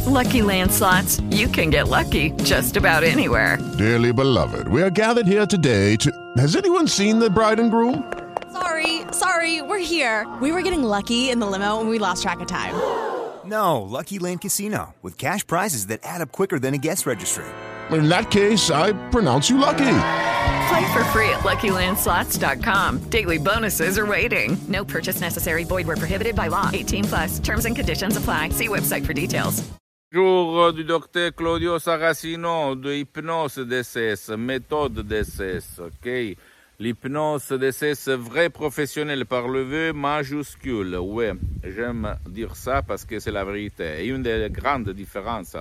Lucky Land Slots, you can get lucky just about anywhere. Dearly beloved, we are gathered here today to... Has anyone seen the bride and groom? Sorry, we're here. We were getting lucky in the limo and we lost track of time. No, Lucky Land Casino, with cash prizes that add up quicker than a guest registry. In that case, I pronounce you lucky. Play for free at LuckyLandSlots.com. Daily bonuses are waiting. No purchase necessary. Void where prohibited by law. 18+. Terms and conditions apply. See website for details. Jour du docteur Claudio Saracino de hypnose DCS, méthode DCS, ok? L'hypnose DCS vrai professionnel par le V majuscule. Ouais, j'aime dire ça parce que c'est la vérité. Et une des grandes différences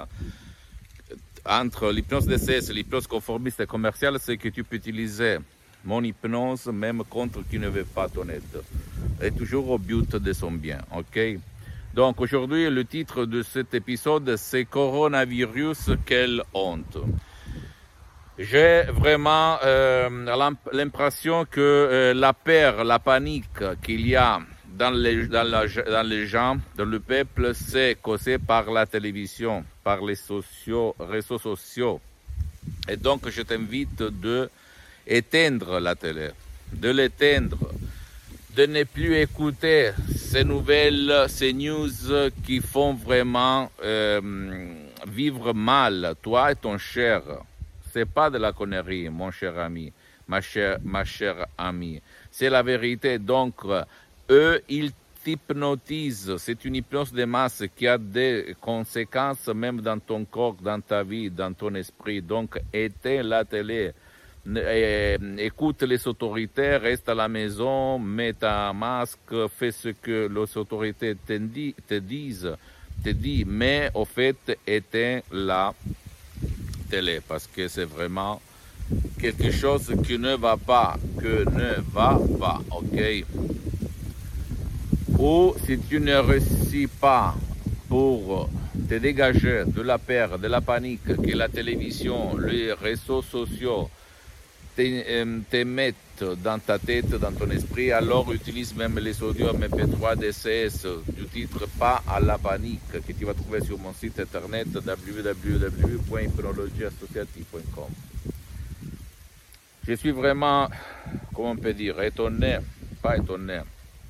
entre l'hypnose DCS et l'hypnose conformiste et commerciale, c'est que tu peux utiliser mon hypnose même contre qui ne veut pas ton aide. Et toujours au but de son bien, ok? Donc aujourd'hui, le titre de cet épisode, c'est Coronavirus, quelle honte. J'ai vraiment l'impression que la peur, la panique qu'il y a dans les gens, dans le peuple, c'est causé par la télévision, par les réseaux sociaux. Et donc, je t'invite d'éteindre la télé, de l'éteindre, de ne plus écouter ces nouvelles, ces news qui font vraiment vivre mal, toi et ton cher. C'est pas de la connerie, mon cher ami, ma chère amie. C'est la vérité. Donc, eux, ils t'hypnotisent. C'est une hypnose de masse qui a des conséquences même dans ton corps, dans ta vie, dans ton esprit. Donc, éteins la télé. Écoute les autorités, reste à la maison, mets un masque, fais ce que les autorités te disent, mais au fait, éteins la télé, parce que c'est vraiment quelque chose qui ne va pas, ok? Ou si tu ne réussis pas pour te dégager de la peur, de la panique que la télévision, les réseaux sociaux te mettent dans ta tête, dans ton esprit, alors utilise même les audios MP3 DCS du titre Pas à la panique que tu vas trouver sur mon site internet www.hypnologieassociative.com. Je suis vraiment, comment on peut dire, étonné, pas étonné.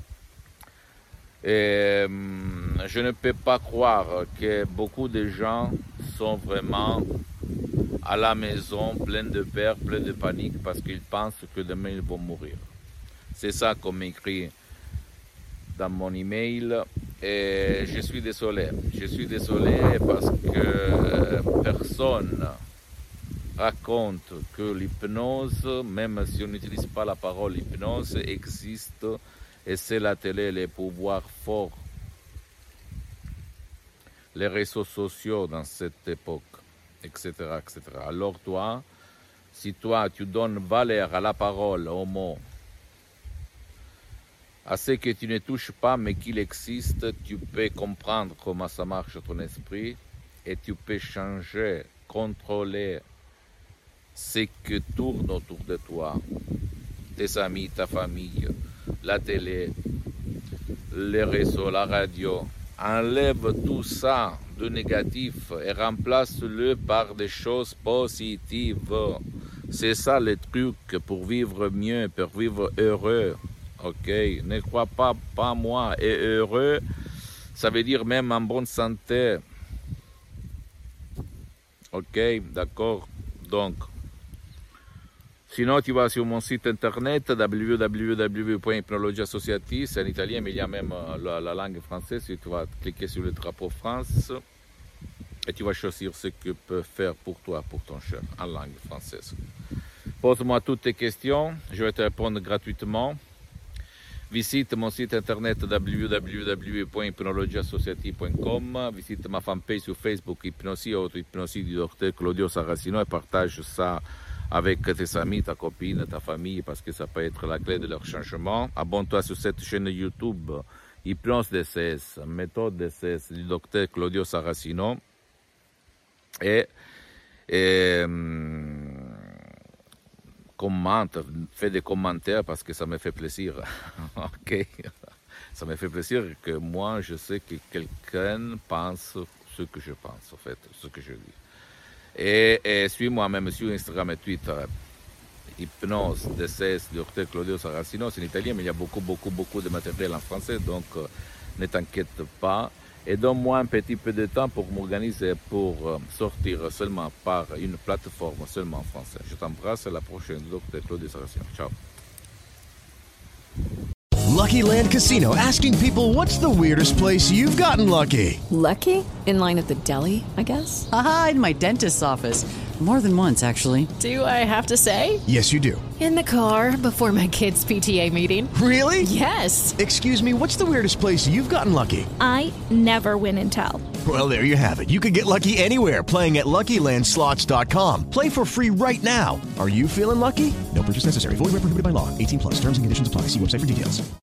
Et je ne peux pas croire que beaucoup de gens sont vraiment à la maison, plein de peur, plein de panique, parce qu'ils pensent que demain ils vont mourir. C'est ça qu'on m'écrit dans mon email, et je suis désolé. Je suis désolé parce que personne raconte que l'hypnose, même si on n'utilise pas la parole hypnose, existe, et c'est la télé, les pouvoirs forts, les réseaux sociaux dans cette époque, etc., etc. Alors toi, si toi tu donnes valeur à la parole, aux mots, à ce que tu ne touches pas mais qu'il existe, tu peux comprendre comment ça marche ton esprit et tu peux changer, contrôler ce qui tourne autour de toi, tes amis, ta famille, la télé, les réseaux, la radio. Enlève tout ça de négatif et remplace-le par des choses positives. C'est ça le truc pour vivre mieux, pour vivre heureux. Ok, ne crois pas moi. Et heureux, ça veut dire même en bonne santé. Ok, d'accord. Donc, sinon, tu vas sur mon site internet www.hypnologieassociative, c'est en italien, mais il y a même la langue française. Tu vas cliquer sur le drapeau France et tu vas choisir ce que peut faire pour toi, pour ton cher, en langue française. Pose-moi toutes tes questions, je vais te répondre gratuitement. Visite mon site internet www.hypnologieassociative.com. Visite ma fanpage sur Facebook, Hypnosie, auto-hypnosie du docteur Claudio Saracino, et partage ça avec tes amis, ta copine, ta famille, parce que ça peut être la clé de leur changement. Abonne-toi sur cette chaîne YouTube, Hypnose DCS, méthode DCS du docteur Claudio Saracino. Et commente, fais des commentaires parce que ça me fait plaisir. Ok, ça me fait plaisir que moi, je sais que quelqu'un pense ce que je pense, en fait, ce que je dis. Et suis-moi même sur Instagram et Twitter. Hypnose, DCS, Dr Claudio Saracino, c'est en italien, mais il y a beaucoup de matériel en français, donc ne t'inquiète pas. Et donne-moi un petit peu de temps pour m'organiser, pour sortir seulement par une plateforme seulement en français. Je t'embrasse, à la prochaine, Dr Claudio Saracino. Ciao. Lucky Land Casino, asking people, what's the weirdest place you've gotten lucky? Lucky? In line at the deli, I guess? Aha, in my dentist's office. More than once, actually. Do I have to say? Yes, you do. In the car before my kids' PTA meeting. Really? Yes. Excuse me, what's the weirdest place you've gotten lucky? I never win and tell. Well, there you have it. You can get lucky anywhere, playing at LuckyLandSlots.com. Play for free right now. Are you feeling lucky? No purchase necessary. Void where prohibited by law. 18+. Terms and conditions apply. See website for details.